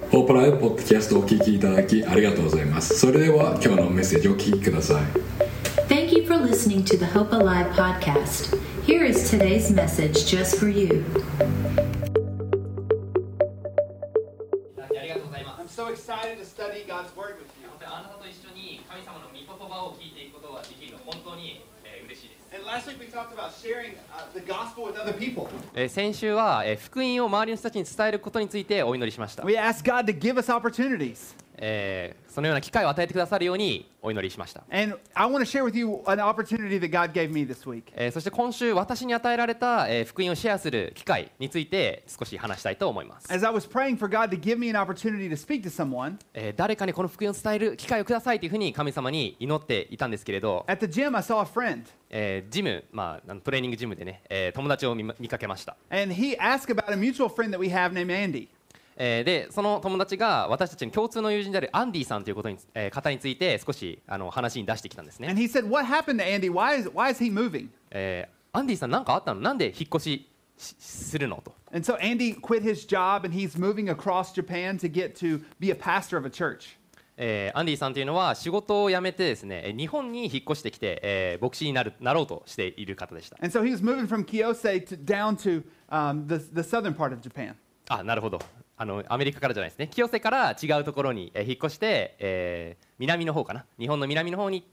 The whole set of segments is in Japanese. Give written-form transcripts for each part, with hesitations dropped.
ホープライブポッドキャストをお聞きいただきありがとうございます。それでは今日のメッセージをお聞きください。 Thank you for listening to the Hope Alive podcast. Here is today's message just for you. ありがとうございます。 I'm so excited to study God's Word with you. あなたと一緒に神様の御言葉を聞いていくことができるの本当に嬉しいです。 And last week we talked about sharing the gospel with other people. 先週は福音を周りの人たちに伝えることについてお祈りしました。 We asked God to give us opportunities. そのような機会を与えてくださるようにお祈りしました。 And I want to share with you an opportunity that God gave me this week. そして今週私に与えられた福音をシェアする機会について少し話したいと思います。 As I was praying for God to give me an opportunity to speak to someone, 誰かにこの福音を伝える機会をくださいというふうに神様に祈っていたんですけれど、 at the gym I saw a friend. ジム、トレーニングジムでね、友達を見かけました。 And he asked about a mutual friend that we have named Andy. でその友達が私たちの共通の友人であるアンディさんという方について少し話に出してきたんですね。 And he said, "What happened to Andy? Why is he moving?" アンディさん何かあったの？なんで引っ越しするのと。 And so Andy quit his job and he's moving across Japan to get to be a pastor of a church. アンディさんというのは仕事を辞めてですね、日本に引っ越してきて、牧師になろうとしている方でした。 And so he was moving from Kiyosei down to the southern part of Japan. なるほど。アメリカからじゃないですね。清瀬から違うところに引っ越して、南の方かな。日本の南の方に行って、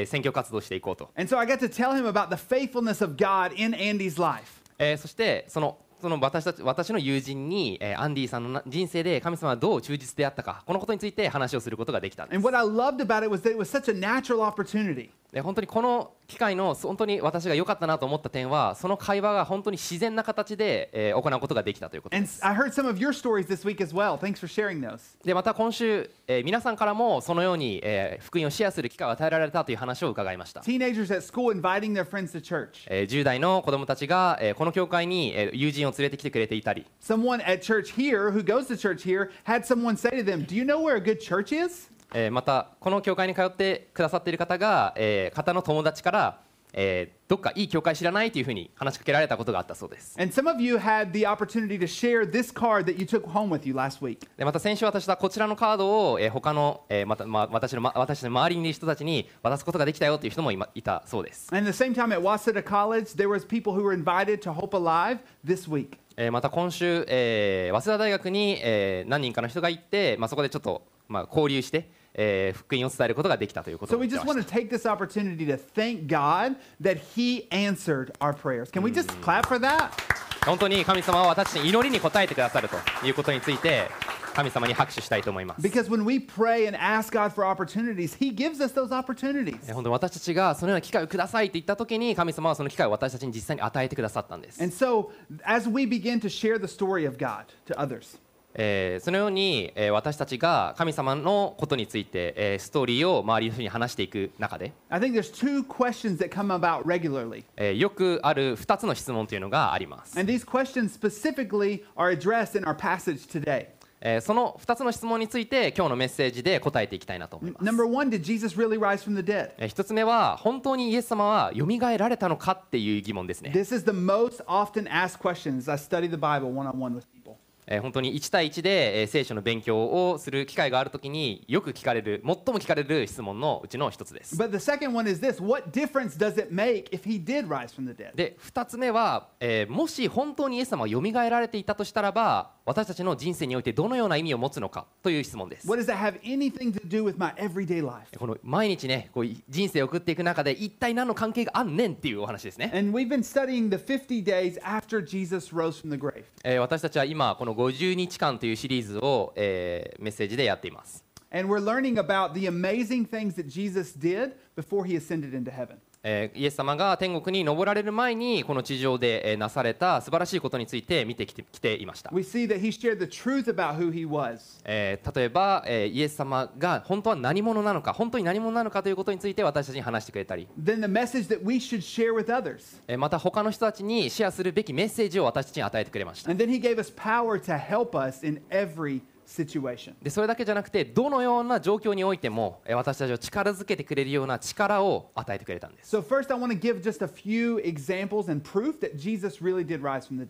選挙活動していこうと。 And so I got to tell him about the faithfulness of God in Andy's life. そしてその私の友人に、アンディさんの人生で神様はどう忠実であったか、このことについて話をすることができたんです。 And what I loved about it was that it was such a natural opportunity. 本当にこの機会の本当に私が良かったなと思った点は、その会話が本当に自然な形で、行うことができたということで And す。 I heard some of your stories this week as well. Thanks for sharing those. でまた今週、皆さんからもそのように、福音をシェアする機会を与えられたという話を伺いました。 Teenagers at school inviting their friends to church. 10代の子どもたちが、この教会に、友人を連れてきてくれていたり、 Someone at church here who goes to church here had someone say to them, "Do you know where a good church is?" またこの教会に通ってくださっている方が、方の友達から、どっかいい教会知らないというふうに話しかけられたことがあったそうです。 And some of you had the opportunity to share this card that you took home with you last week. でまた先週私はこちらのカードを、他の、私の周りにいる人たちに渡すことができたよという人もいたそうです。 And at the same time at Waseda College, there was people who were invited to Hope Alive this week. また今週、早稲田大学に、何人かの人が行って、そこでちょっと、交流して、福音を伝えることができたということ So を we 言って just ま want し to take this opportunity to thank God that He answered our prayers. Can we just clap for that? た。本当に神様は私の祈りに応えてくださるということについて神様に拍手したいと思います。 Because when we pray and ask God for opportunities, He gives us those opportunities. 本当に私たちがそのような機会をくださいと言ったときに神様はその機会を私たちに実際に与えてくださったんです。 And so as we begin to share the story of God to others, そのように、私たちが神様のことについて、ストーリーを周りの人に話していく中で、 I think there's two questions that come about regularly. よくある2つの質問というのがあります。 And these questions specifically are addressed in our passage today. その2つの質問について今日のメッセージで答えていきたいなと思います。 Number one, did Jesus really rise from the dead? 1つ目は本当にイエス様はよみがえられたのかっていう疑問ですね。 This is the most often asked question as I study the Bible one-on-one with people. 本当に1対1で、聖書の勉強をする機会があるときによく聞かれる、最も聞かれる質問のうちの1つです。 But the second one is this: what difference does it make if he did rise from the dead? で2つ目は、もし本当にイエス様がよみがえられていたとしたらば、私たちの人生においてどのような意味を持つのかという質問です。 What does that have anything to do with my everyday life? この毎日ね、こう人生を送っていく中で一体何の関係があんねんっていうお話ですね。 And we've been studying the 50 days after Jesus rose from the grave. 私たちは今この50日間というシリーズを、メッセージでやっています。 And we're learning about the amazing things that Jesus did before he ascended into heaven. イエス様が天国に昇られる前にこの地上で、なされた素晴らしいことについて見てきていました。 We see that he shared the truth about who he was. 例えば、イエス様が本当は何者なのか、本当に何者なのかということについて私たちに話してくれたり、 Then the message that we should share with others. また他の人たちにシェアするべきメッセージを私たちに与えてくれました。 And then he gave us power to help us in every situation. でそれだけじゃなくて、どのような状況においても私たちを力づけてくれるような力を与えてくれたんです。 So first I want to give just a few examples and proof that Jesus really did rise from the dead.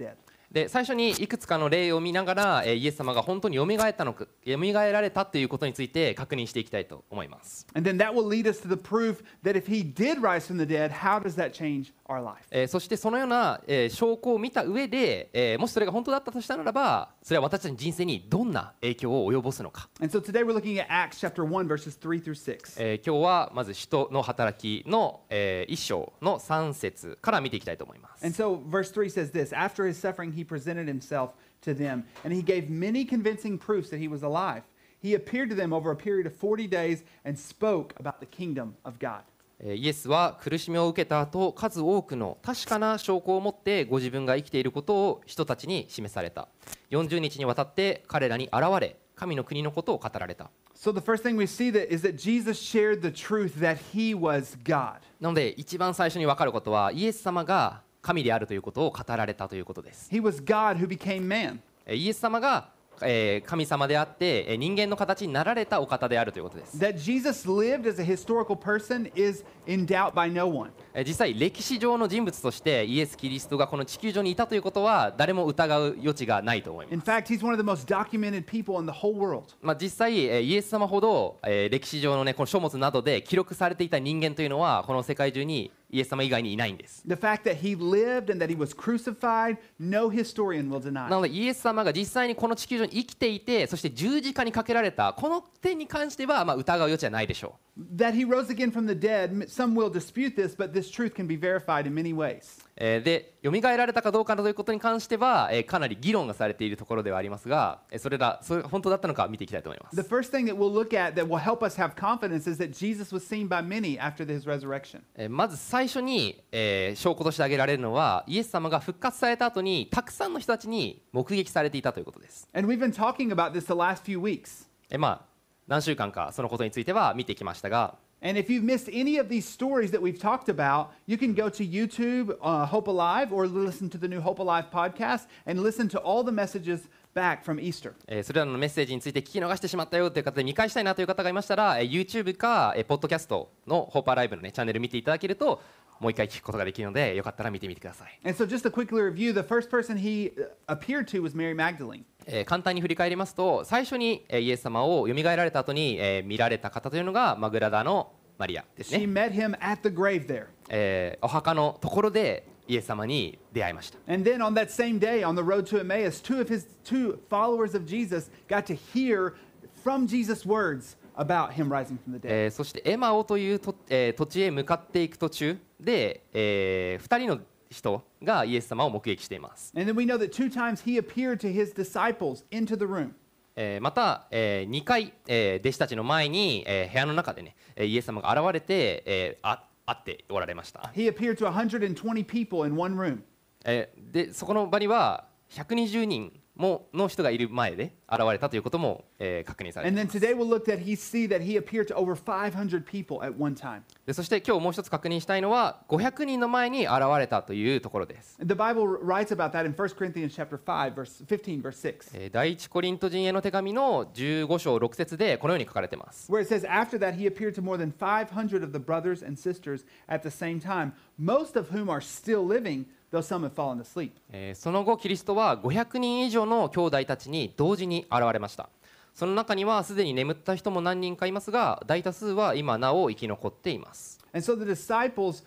で最初にいくつかの例を見ながら、イエス様が本当によみがえられたということについて確認していきたいと思います。 And then that will lead us to the proof that if he did rise from the dead, how does that change our life? そしてそのような、証拠を見た上で、もしそれが本当だったとしたならば、それは私たちの人生にどんな影響を及ぼすのか。 And so today we're looking at Acts chapter 1 verses 3 through 6. 今日はまず使徒の働きの、1章の3節から見ていきたいと思います。 And so verse 3 says this, after his suffering he presented himself to them, and he gave many convincing proofs that he was alive. He appeared to them over a period of 40 days and spoke about the kingdom of God. イエスは苦しみを受けた後、数多くの確かな証拠を持ってご自分が生きていることを人たちに示された。40日にわたって彼らに現れ、神の国のことを語られた。 So the first thing we see that is that Jesus shared the truth that he was God. なので一番最初に分かることは、イエス様が神であるということを語られたということです。 He was God who became man. イエス様が神様であって人間の形になられたお方であるということです。 That Jesus lived as a historical person is in doubt by no one. 実際歴史上の人物としてイエス・キリストがこの地球上にいたということは誰も疑う余地がないと思います。 In fact, he's one of the most documented people in the whole world. 実際イエス様ほど歴史上のねこの書物などで記録されていた人間というのはこの世界中にイエス様以外にいないんです。 The fact that he lived and that he was crucified, no historian will deny. なのでイエス様が実際にこの地球上に生きていて、そして十字架にかけられたこの点に関しては疑う余地はないでしょう。 That he rose again from the dead, some will dispute this, but this truth can be verified in many ways. で、蘇られたかどうかということに関してはかなり議論がされているところではありますが、それが本当だったのか見ていきたいと思います。 The first thing that we'll look at that will help us have confidence is that Jesus was seen by many after his resurrection. まず最初に、証拠として挙げられるのは、イエス様が復活された後にたくさんの人たちに目撃されていたということです。 And we've been talking about this the last few weeks. 何週間かそのことについては見てきましたが、 And if you've missed any of these stories that we've talked about, you can go to YouTube, Hope Alive, or listen to the new Hope Alive podcast and listen to all the messages back from Easter. それらのメッセージについて聞き逃してしまったよという方で見返したいなという方がいましたら、YouTube かポッドキャストの Hope Alive の、チャンネル見ていただけるともう一回聞くことができるので、よかったら見てみてください。 And so just a quick review, the first person he appeared to was Mary Magdalene. 簡単に振り返りますと、最初にイエス様を蘇られた後に見られた方というのがマグラダのマリアですね。 She met him at the grave there. お墓のところでイエス様に出会いました。 And then on that same day, on the road to Emmaus, two followers of Jesus got to hear from Jesus' words about him rising from the dead. そしてエマオという土地へ向かっていく途中で、2人の人がイエス様を目撃しています。 And then we know that 2 times he appeared to his disciples into the room. また、2回、弟子たちの前に、部屋の中でねイエス様が現れて、会っておられました。 He appeared to 120 people in one room. でそこの場には120人の人がいる前で現れたということも、確認されてい And ます。 then today we'll look at that he appeared to over 500 people at one time. でそして今日もう一つ確認したいのは500人の前に現れたというところです。 The Bible writes about that in 1 Corinthians chapter 5, verse 15, verse 6. 第一コリント人への手紙の15章6節でこのように書かれています。 Where it says, after that he appeared to more than 500 of the brothers and sisters at the same time, most of whom are still living, though some have fallen asleep. その後キリストは500人以上の兄弟たちに同時に現れました。その中にはすでに眠った人も何人かいますが、大多数は今なお生き残っています。 And so the disciples,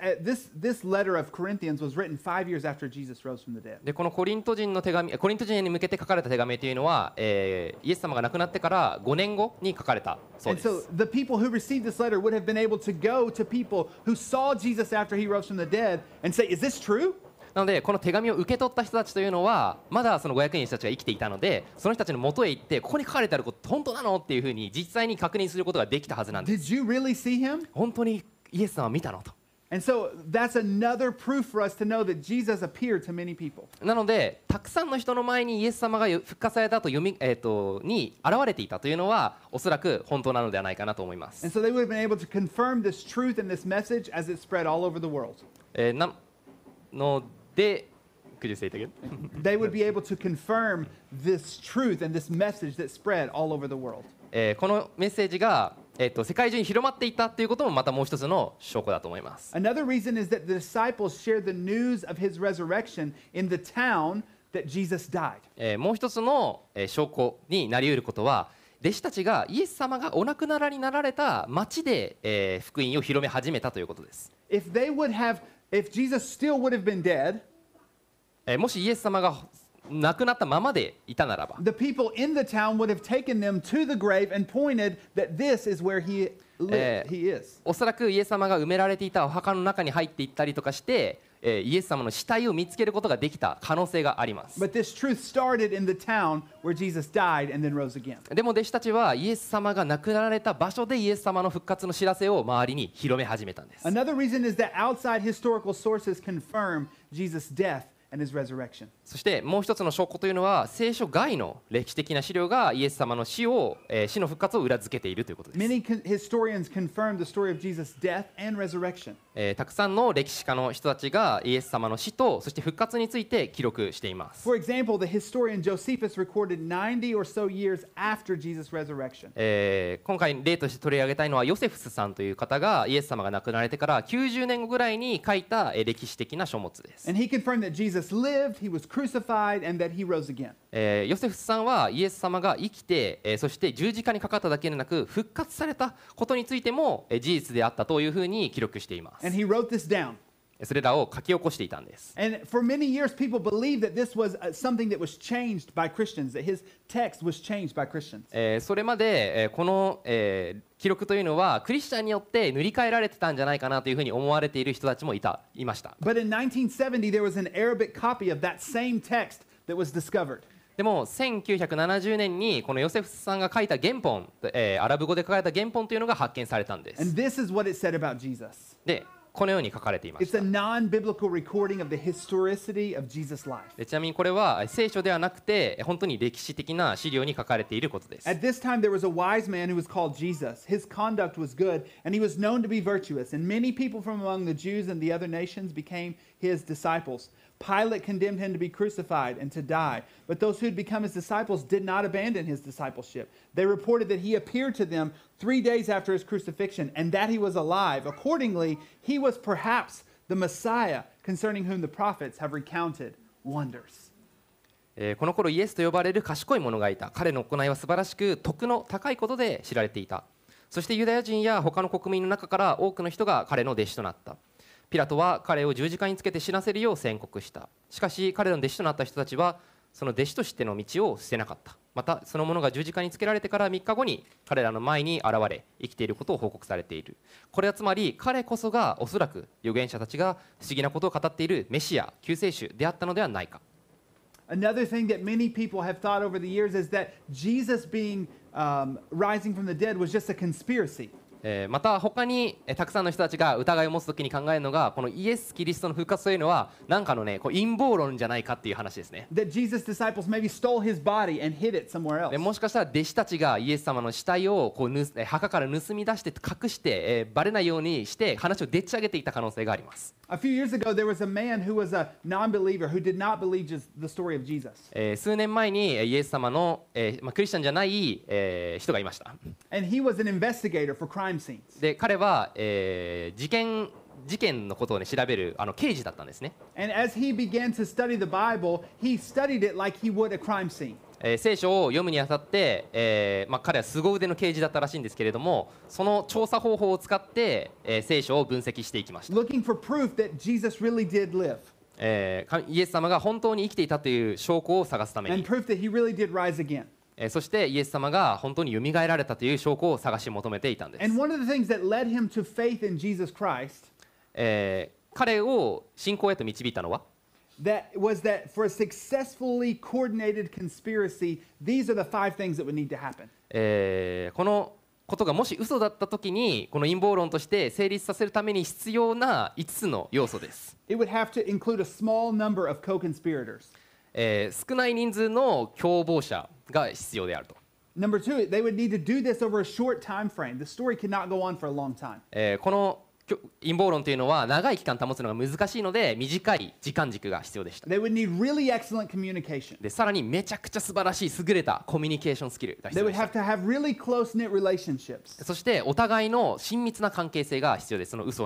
this letter of Corinthians was written 5 years after Jesus rose from the dead. でこのコリント人に向けて書かれた手紙というのは、イエス様が亡くなってから5年後に書かれたそうで And す。 so the people who received this letter would have been able to go to people who saw Jesus after he rose from the dead and say, is this true? なのでこの手紙を受け取った人たちというのはまだその500人の人たちが生きていたので、その人たちの元へ行ってここに書かれてあること本当なのっていうふうに実際に確認することができたはずなんです。 Did you really see him? 本当にイエス様を見たのと。 And so that's another proof for us to know that Jesus appeared to many people. なのでたくさんの人の前にイエス様が復活された後に現れていたというのはおそらく本当なのではないかなと思います。 And so they would have been able to confirm this truth and this message as it spread all over the world. なのでCould you say it again? They would be able to confirm this truth and this message that spread all over the world. このメッセージが、世界中に広まっていったということもまたもう一つの証拠だと思います。 Another reason is that the disciples shared the news of his resurrection in the town that Jesus died. もう一つの証拠になり得ることは、弟子たちがイエス様がお亡くなりになられた町で、福音を広め始めたということです。 If Jesus still would have been dead, もしイエス様が亡くなったままでいたならば、 the people in the town would have taken them to the grave and pointed that this is where he is. おそらくイエス様が埋められていたお墓の中に入っていったりとかして、イエス様の死体を見つけることができた可能性があります。 But this truth started in the town where Jesus died and then rose again. でも弟子たちはイエス様が亡くなられた場所でイエス様の復活の知らせを周りに広め始めたんです。 Another reason is that outside historical sources confirm Jesus' death and his resurrection. そしてもう一つの証拠というのは、聖書外の歴史的な資料がイエス様の死の復活を裏付けているということです。 Many historians confirm the story of Jesus' death and resurrection. たくさんの歴史家の人たちがイエス様の死とそして復活について記録しています。 For example, the historian Josephus recorded 90 or so years after Jesus' resurrection. 今回例として取り上げたいのはヨセフスさんという方がイエス様が亡くなられてから90年後ぐらいに書いた歴史的な書物です。 And he confirmed that Jesus lived, he was crucified, and that he rose again. ヨセフスさんはイエス様が生きて、そして十字架にかかっただけでなく復活されたことについても、事実であったというふうに記録しています。 And he wrote this down. それらを書き起こしていたんです。 And for many years, people believed that this was something that was changed by Christians, that his text was changed by Christians. それまで、この、記録というのはクリスチャンによって塗り替えられてたんじゃないかなというふうに思われている人たちもいました。 But in 1970, there was an Arabic copy of that same text that was discovered. でも1970年にこのヨセフスさんが書いた原本、アラブ語で書かれた原本というのが発見されたんです。 And this is what it said about Jesus. でこのように書かれていまし It's た。 a non-biblical recording of the historicity of Jesus' life. でちなみにこれは聖書ではなくて本当に歴史的な資料に書かれていることです。 At this time, there was a wise man who was called Jesus. His conduct was good, and he was known to be virtuous. And many people from among the Jews and the other nations became his disciples. Pilate condemned him to be crucified and to die. But those who had become his disciples did not abandon his discipleship. They reported that he appeared to them 3 days after his crucifixion and that he was alive. Accordingly, he was perhaps the Messiah concerning whom the prophets have recounted wonders. この頃イエスと呼ばれる賢い者がいた。彼の行いは素晴らしく徳の高いことで知られていた。そしてユダヤ人や他の国民の中から多くの人が彼の弟子となった。ピラトは彼を十字架につけて死なせるよう宣告した。しかし彼の弟子となった人たちはその弟子としての道を捨てなかった。またその者が十字架につけられてから3日後に彼らの前に現れ生きていることを報告されている。これはつまり彼こそがおそらく預言者たちが不思議なことを語っているメシア救世主であったのではないか。 Another thing that many people have thought over the years is that Jesus being rising from the dead was just a conspiracy. また他にたくさんの人たちが疑いを持つときに考えるのがこのイエス・キリストの復活というのはなんかのね陰謀論じゃないかっていう話ですね。 That Jesus' disciples maybe stole his body and hid it somewhere で else. もしかしたら弟子たちがイエス様の死体を墓から盗み出して隠して、バレないようにして話をでっち上げていた可能性があります。 A few years ago, there was a man who was a non-believer who did not believe just the story of Jesus. 数年前にイエス様の、クリスチャンじゃない、人がいました。 And he was an investigator for crime scenes. で彼は、事件のことを、ね、調べる刑事だったんですね。 And as he began to study the Bible, he studied it like he would a crime scene. 聖書を読むにあたって、彼は凄腕の刑事だったらしいんですけれどもその調査方法を使って、聖書を分析していきました。 Looking for proof that Jesus really did live. イエス様が本当に生きていたという証拠を探すため And に proof that he really did rise again. そしてイエス様が本当に蘇られたという証拠を探し求めていたんです。 And one of the things that led him to faith in Jesus Christ 彼を信仰へと導いたのは was that for a successfully coordinated conspiracy, these are the 5 things that would need to happen. このことがもし嘘だったときにこの陰謀論として成立させるために必要な5つの要素です。 It would have to include a small number of co-conspirators. 少ない人数の共謀者が必要であると。 Number 2, they would need to do this over a short time frame. The story cannot go on for a long time. この陰謀論というのは長い期間保つのが難しいので短い時間軸が必要でした。 They would need really excellent communication. でさらにめちゃくちゃ素晴らしい優れたコミュニケーションスキルが必 They 要 would でした。 have to have really close-knit relationships. そしてお互いの親密な関係性が必要です。その嘘をね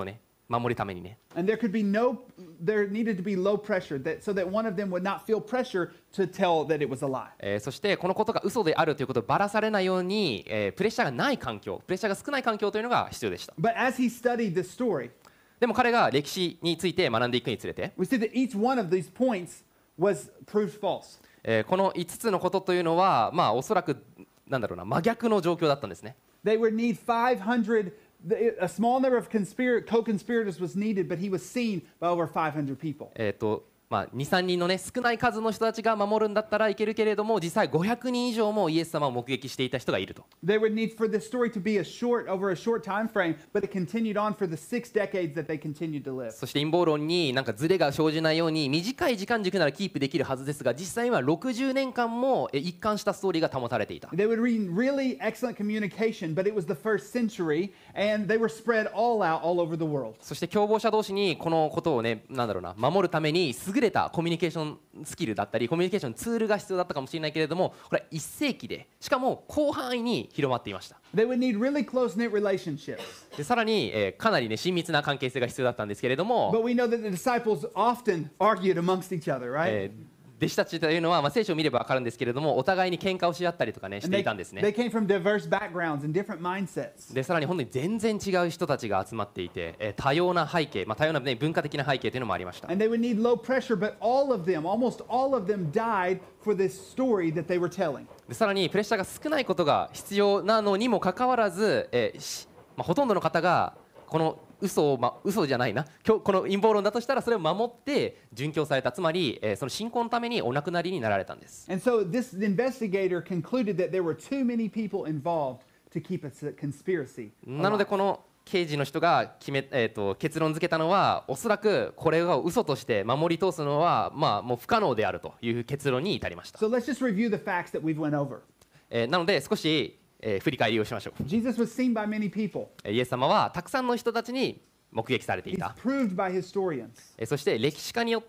守るためにね。 And there needed to be low pressure so that one of them would not feel pressure to tell that it was a lie. そしてこのことが嘘であるということをばらされないように、プレッシャーがない環境、プレッシャーが少ない環境というのが必要でした。 But as he studied this story, でも彼が歴史について学んでいくにつれて、 we see that each one of these points was proved false. この5つのことというのは、まあ、おそらくなんだろうな、真逆の状況だったんですね。 They would need 500, a small number of co-conspirators was needed, but he was seen by over 500 people. まあ、2、3人のね、少ない数の人たちが守るんだったらいけるけれども、実際500人以上もイエス様を目撃していた人がいると。 They would need for this story to be over a short time frame, but it continued on for the 6 decades that they continued to live. そして陰謀論になんかズレが生じないように短い時間軸ならキープできるはずですが、実際は60年間も一貫したストーリーが保たれていた。 They would read really excellent communication, but it was the first century, and they were spread all out all over the world. そして共謀者同士にこのことをね、なんだろうな、守るために優れたコミュニケーションスキルだったりコミュニケーションツールが必要だったかもしれないけれども、これは1世紀でしかも広範囲に広まっていました。 They would need really close-knit relationships. でさらに、かなりね親密な関係性が必要だったんですけれども、 But we know that the disciples often argued amongst each other, right? 弟子たちというのは、まあ、聖書を見れば分かるんですけれども、お互いに喧嘩をし合ったりとかねし And ていたんです they ね。 came from diverse backgrounds and different mindsets. でさらに本当に全然違う人たちが集まっていて、多様な背景、まあ、多様な、ね、文化的な背景というのもありました。 And they would need low pressure, but almost all of them died for this story that they were telling. でさらにプレッシャーが少ないことが必要なのにもかかわらず、まあ、ほとんどの方がこの嘘じゃないな、この陰謀論だとしたらそれを守って殉教された、つまり、その信仰のためにお亡くなりになられたんです。 And so this investigator concluded that there were too many people involved to keep a conspiracy. なのでこの刑事の人が結論付けたのは、おそらくこれを嘘として守り通すのは、まあ、もう不可能であるという結論に至りました。 So let's just review the facts that we've went over. なので少し、振り返りをしましょう。 Jesus was seen by many people. イエス様はたくさんの人たちに目撃されてい He's た。 proved by historians. そして歴史家によって、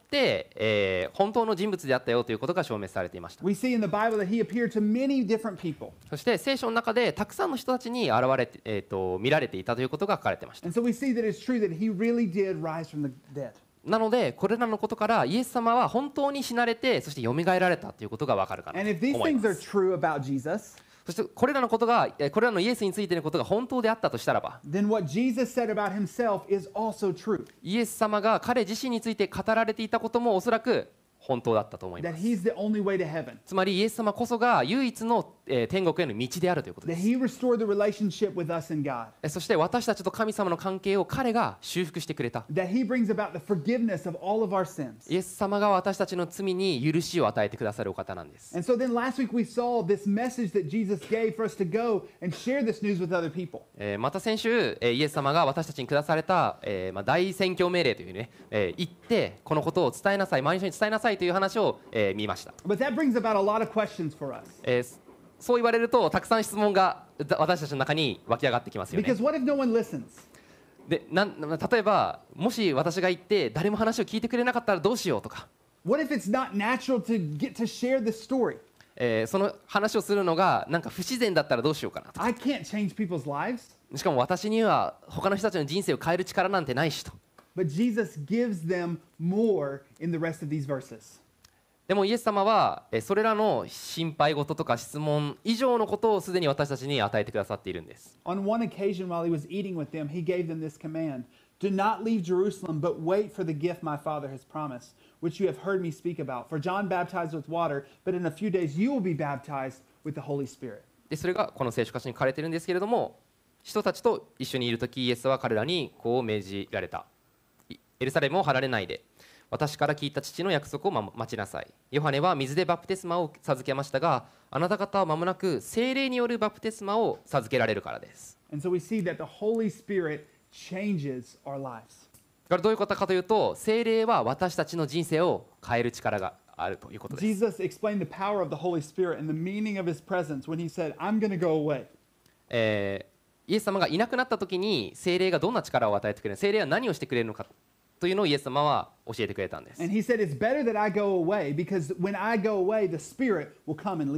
本当の人物であったよということが証明されていました。 We see in the Bible that he appeared to many different people. そして聖書の中でたくさんの人たちに見られていたということが書かれていました。 And so we see that it's true that he really did rise from the dead. なのでこれらのことからイエス様は本当に死なれて、そして蘇られたということがわかるかな And と if these 思い things ま are す。 true about Jesus, そしてこれらのイエスについてのことが本当であったとしたらば、 then what Jesus said about himself is also true. イエス様が彼自身について語られていたこともおそらく本当だったと思いま That す。 he's the only way to heaven. つまりイエス様こそが唯一の、天国への道であるということで That す。 he restored the relationship with us and God. そして私たちと神様の関係を彼が修復してくれた。 That he brings about the forgiveness of all of our sins. イエス様が私たちの罪に許しを与えてくださるお方なんです。 And so then last week we saw this message that Jesus gave for us to go and share this news with other people. また先週、イエス様が私たちに下された、大宣教命令というね、言ってこのことを伝えなさい、周りの人に伝えなさいという話を、見ました。 But that brings about a lot of questions for us. そう言われるとたくさん質問が私たちの中に湧き上がってきますよね。 Because what if no one listens? で例えばもし私が言って誰も話を聞いてくれなかったらどうしようとか、 What if it's not natural to get to share this story? その話をするのがなんか不自然だったらどうしようかなとか、 I can't change people's lives. しかも私には他の人たちの人生を変える力なんてないしと。 But Jesus gives them more in the rest of these verses. でもイエス様はそれらの心配事とか質問以上のことをすでに私たちに与えてくださっているんです。 On one occasion while he was eating with them, he gave them this command: Do not leave Jerusalem, but wait for the gift my Father has promised, which you have heard me speak about. For John baptized with water, but in a few days you will be baptized with the Holy Spirit. でそれがこの聖書箇所に書かれているんですけれども、人たちと一緒にいるときイエスは彼らにこう命じられた。エルサレムを離れないで、私から聞いた父の約束を待ちなさい。ヨハネは水でバプテスマを授けましたが、あなた方は間もなく聖霊によるバプテスマを授けられるからです。 And so we see that the Holy Spirit changes our lives. これどういうことかというと、聖霊は私たちの人生を変える力があるということです。 Jesus explained the power of the Holy Spirit and the meaning of his presence when he said, I'm going to go away. イエス様がいなくなった時に聖霊がどんな力を与えてくれる、聖霊は何をしてくれるのかというのをイエス様は教えてくれたんです。 And he said, It's better that I go away because when I go away, the Spirit will come and lead you.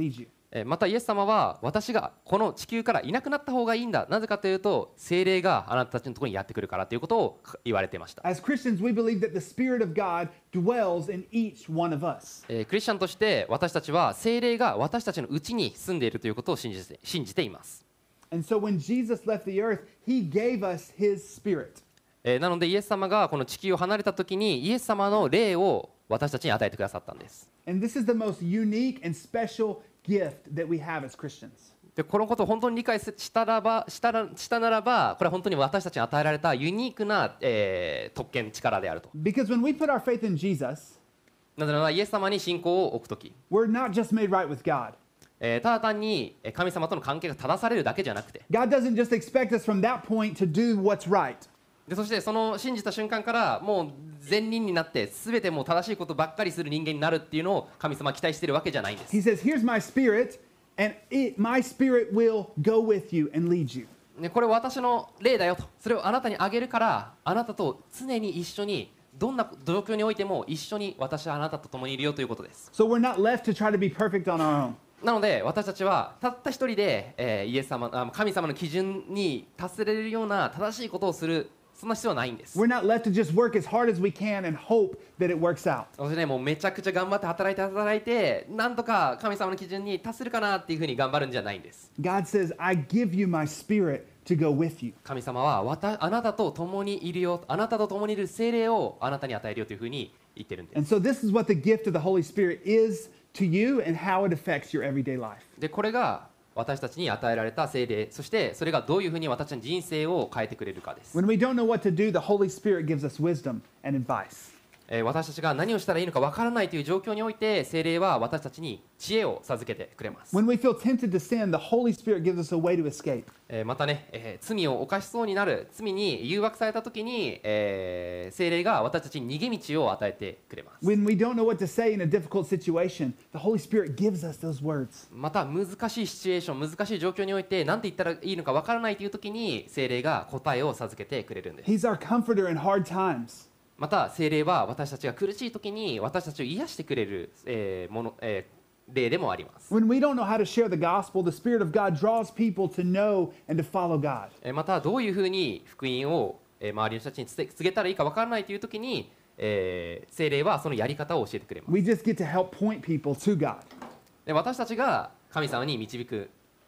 またイエス様は私がこの地球からいなくなった方がいいんだ、なぜかというと聖霊があなたたちのところにやってくるからということを言われていました。 As Christians, we believe that the Spirit of God dwells in each one of us. クリスチャンとして私たちは聖霊が私たちのうちに住んでいるということを信じています。 And so when Jesus left the earth, he gave us his Spirit. なのでイエス様がこの地球を離れた時にイエス様の霊を私たちに与えてくださったんです。 And this is the most unique and special gift that we have as Christians. でこのことを本当に理解したならば、これは本当に私たちに与えられたユニークな、特権、力であると。 Because when we put our faith in Jesus, なぜならイエス様に信仰を置くとき、 we're not just made right with God. ただ単に神様との関係が正されるだけじゃなくて、 God doesn't just expect us from that point to do what's right. でそしてその信じた瞬間からもう善人になって全てもう正しいことばっかりする人間になるっていうのを神様は期待しているわけじゃないんです。 He says, here's my Spirit, and my Spirit will go with you and lead you. ね、これは私の霊だよと、それをあなたにあげるからあなたと常に一緒にどんな状況においても一緒に私はあなたと共にいるよということです。 So we're not left to try to be perfect on our own. なので私たちはたった一人で、イエス様神様の基準に達せれるような正しいことをする、そんな必要はないんです。 We're not left to just work as hard as we can and hope that it works out. そしてね、もうめちゃくちゃ頑張って働いてなんとか神様の基準に達するかなっていうふうに頑張るんじゃないんです。 God says, I give you my Spirit to go with you. 神様はあなたと共にいるよ、あなたと共にいる聖霊をあなたに与えるよというふうに言ってるんです。 And so this is what the gift of the Holy Spirit is to you and how it affects your everyday life. でこれが私たちに与えられた聖霊、そしてそれがどういうふうに私たちの人生を変えてくれるかです。 When we don't know what to do, the Holy Spirit gives us wisdom and advice. 私たちが何をしたらいいのかわからないという状況において聖霊は私たちに知恵を授けてくれます。 When we feel tempted to sin, the Holy Spirit gives us a way to escape. またね、罪を犯しそうになる、罪に誘惑された時に、聖霊が私たちに逃げ道を与えてくれます。 When we don't know what to say in a difficult situation, the Holy Spirit gives us those words. また難しいシチュエーション、難しい状況において何て言ったらいいのかわからないという時に聖霊が答えを授けてくれるんです。 He's our comforter in hard times. また聖霊は私たちが苦しい時に私たちを癒してくれる、例でもあります。 When we don't know how to share the gospel, the Spirit of God draws people to know and to follow God. またどういうふうに福音を周りの人たちに告げたらいいかわからないという時に、聖霊はそのやり方を教えてくれます。 We just get to help point people to God. で私たちが神様に導く、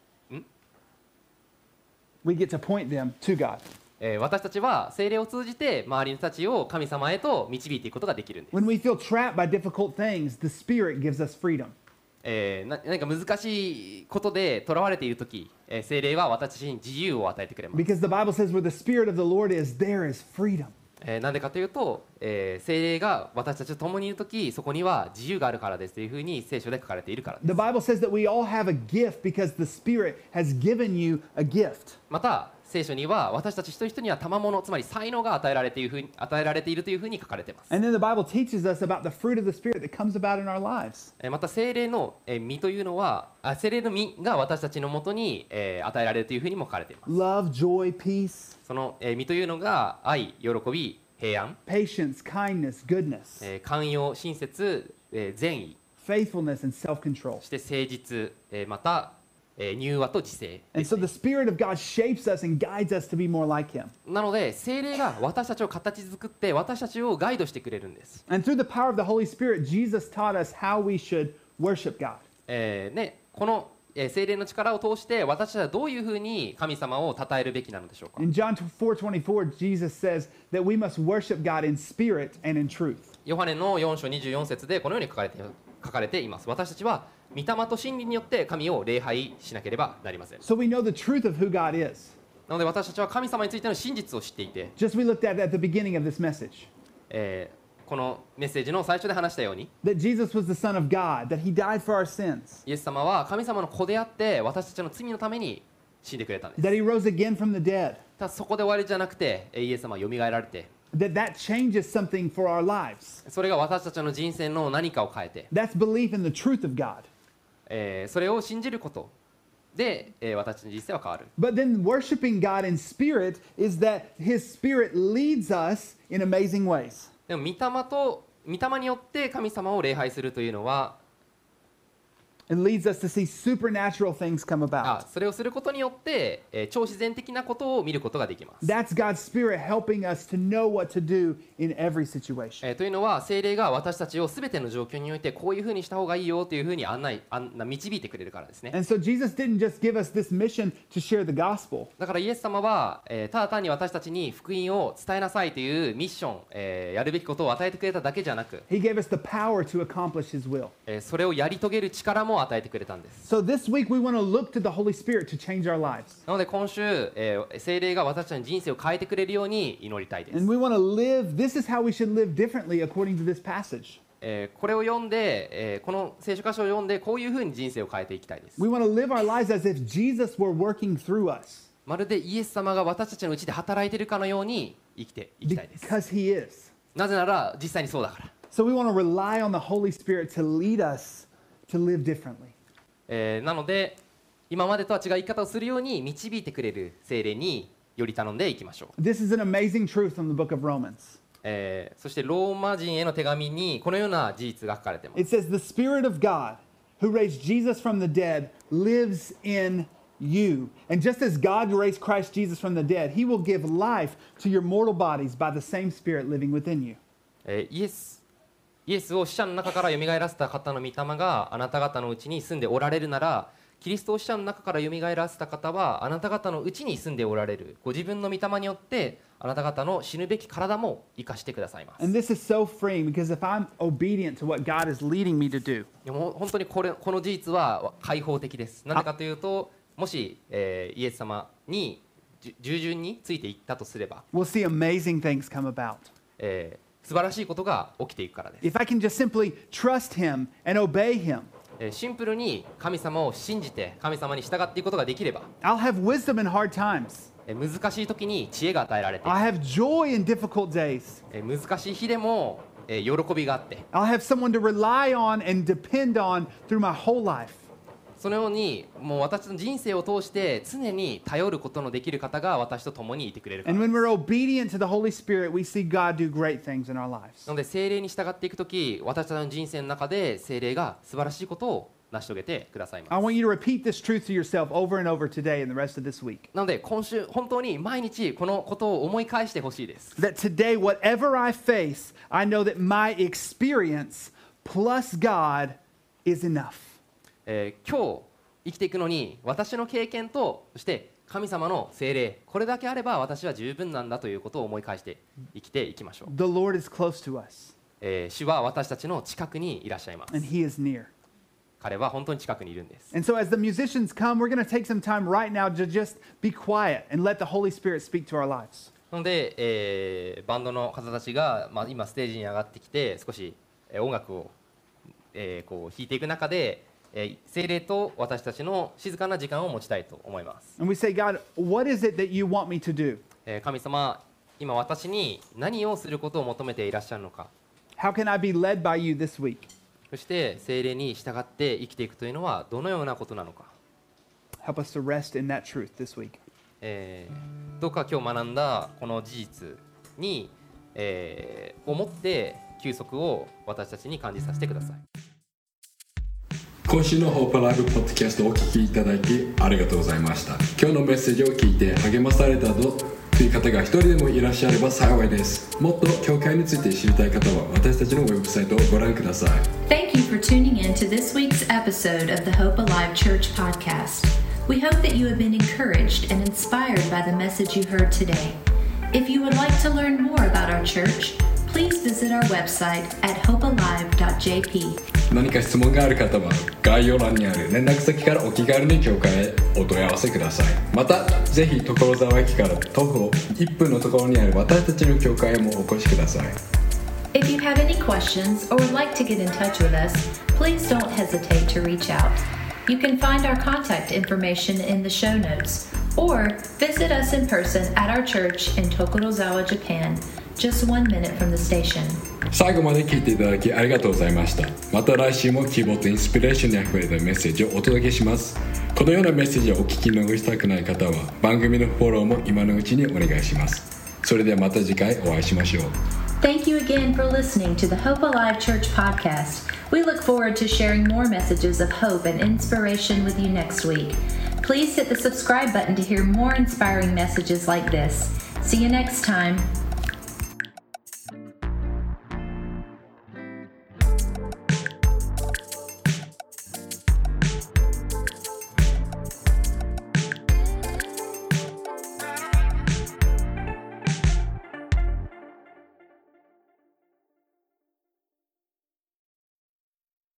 We get to point them to God. 私たちは聖霊を通じて周りの人たちを神様へと導いていくことができるんです。 When we feel trapped by difficult things, the Spirit gives us freedom. 何か難しいことでとらわれているとき、聖霊は私たちに自由を与えてくれます。 Because the Bible says where the Spirit of the Lord is, there is freedom. なんでかというと、聖霊が私たちと共にいるとき、そこには自由があるからですというふうに聖書で書かれているからです。 The Bible says that we all have a gift because the Spirit has given you a gift. また聖書には私たち一人一人には賜物、つまり才能が与えられているというふうに書かれています。 And then the Bible teaches us about the fruit of the Spirit that comes about in our lives. また聖霊の実というのは、聖霊の実が私たちのもとに与えられるというふうにも書かれています。 Love, joy, peace, その実というのが愛、喜び、平安、 patience, kindness, goodness, 寛容、親切、善意、 faithfulness, and self-control. そして誠実、また柔和と自制 And です so the Spirit of God shapes us and guides us to be more like Him. なので聖霊が私たちを形作って私たちをガイドしてくれるんです。 And through the power of the Holy Spirit, Jesus taught us how we should worship God. この聖霊の力を通して私たちはどういうふうに神様を称えるべきなのでしょうか。 In John 4:24, Jesus says that we must worship God in spirit and in truth. ヨハネの4章24節でこのように書かれています。私たちは御霊と真理によって神を礼拝しなければなりません。 So we know the truth of who God is. なので私たちは神様についての真実を知っていて、 Just we looked at the beginning of this message. このメッセージの最初で話したように That Jesus was the Son of God, that He died for our sins, イエス様は神様の子であって私たちの罪のために死んでくれたんです。 that He rose again from the dead, ただそこで終わりじゃなくてイエス様はよみがえられて、 that changes something for our lives. それが私たちの人生の何かを変えて、 That's belief in the truth of God. それを信じることで、私たちの人生は変わる。 But then worshiping God in spirit is that His Spirit leads us in amazing ways. でも御霊によって神様を礼拝するというのは It leads us to see supernatural things come about. それをすることによって、超自然的なことを見ることができます。 That's God's Spirit helping us to know what to do in every situation. というのは聖霊が私たちをすべての状況においてこういうふうにした方がいいよというふうに導いてくれるからですね。 And so Jesus didn't just give us this mission to share the gospel. だからイエス様は、ただ単に私たちに福音を伝えなさいというミッション、やるべきことを与えてくれただけじゃなく、 He gave us the power to accomplish His will. それをやり遂げる力も与えてくれたんです。 So this week we want to look to the Holy Spirit to change our lives. なので今週、聖霊が私たちの人生を変えてくれるように祈りたいです。 And we want to live, this is how we should live differently according to this passage. これを読んで、この聖書箇所を読んでこういうふうに人生を変えていきたいです。 We want to live our lives as if Jesus were working through us. まるでイエス様が私たちのうちで働いているかのように生きていきたいです。 Because He is. なぜなら実際にそうだから。 So we want to rely on the Holy Spirit to lead us to live differently. なので今までとは違う生き方をするように導いてくれる聖霊により頼んでいきましょう。 This is an amazing truth from the book of Romans. そしてローマ人への手紙にこのような事実が書かれています。 It says, The Spirit of God, who raised Jesus from the dead, lives in you. And just as God raised Christ Jesus from the dead, He will give life to your mortal bodies by the same Spirit living within you. イエスを死者の中からよみがえらせた方の御霊があなた方のうちに住んでおられるなら、キリストを死者の中からよみがえらせた方はあなた方のうちに住んでおられるご自分の御霊によってあなた方の死ぬべき体も生かしてくださいます。 And this is so freeing because if I'm obedient to what God is leading me to do, でも本当にこの事実は開放的です。なぜかというと、もし、イエス様に従順についていったとすれば、 we'll see amazing things come about. 素晴らしいことが起きていくからです。 If I can just simply trust Him and obey Him, シンプルに神様を信じて神様に従っていくことができれば、 I'll have wisdom in hard times. 難しい時に知恵が与えられて、 I'll have joy in difficult days. 難しい日でも喜びがあって、 I'll have someone to rely on and depend on through my whole life. そのようにもう私の人生を通して常に頼ることのできる方が私と共にいてくれるから And です。 when we're obedient to the Holy Spirit, we see God do great things in our lives. なので聖霊に従っていくとき、私たちの人生の中で聖霊が素晴らしいことを成し遂げてくださいます。 I want you to repeat this truth to yourself over and over today and the rest of this week. なので今週本当に毎日このことを思い返してほしいです。 That today, whatever I face, I know that my experience plus God is enough. 今日生きていくのに私の経験とそして神様の聖霊、これだけあれば私は十分なんだということを思い返して生きていきましょう。 The Lord is close to us, 主は私たちの近くにいらっしゃいます。 and He is near. 彼は本当に近くにいるんです。 And so, as the musicians come, we're going to take some time right now to just be quiet and let the Holy Spirit speak to our lives. なので、バンドの方たちが、今ステージに上がってきて少し、音楽を、こう弾いていく中で、聖霊と私たちの静かな時間を持ちたいと思います。 And we say, God, what is it that you want me to do? 神様、今私に何をすることを求めていらっしゃるのか。 How can I be led by you this week? そして聖霊に従って生きていくというのはどのようなことなのか。 Help us to rest in that truth this week. どうか今日学んだこの事実に、をもって休息を私たちに感じさせてください。 今週のホープライブポッドキャストをお聞きいただきありがとうございました。今日のメッセージを聞いて励まされたという方が一人でもいらっしゃれば幸いです。もっと教会について知りたい方は私たちのウェブサイトをご覧ください。 Thank you for tuning in to this week's episode of the Hope Alive Church podcast. We hope that you have been encouraged and inspired by the message you heard today. If you would like to learn more about our church, please visit our website at hopealive.jp. 何か質問がある方は概要欄にある連絡先からお気軽に教会へお問い合わせください。またぜひ所沢駅から徒歩1分のところにある私たちの教会へもお越しください。 If you have any questions or would like to get in touch with us, please don't hesitate to reach out. You can find our contact information in the show notes or visit us in person at our church in Tokorozawa, Japan, just 1 minute from the station. 最後まで聞いていただきありがとうございました。また来週も希望とインスピレーションにあふれたメッセージをお届けします。このようなメッセージをお聞き逃したくない方は番組のフォローも今のうちにお願いします。それではまた次回お会いしましょう。 Thank you again for listening to the Hope Alive Church podcast. We look forward to sharing more messages of hope and inspiration with you next week. Please hit the subscribe button to hear more inspiring messages like this. See you next time.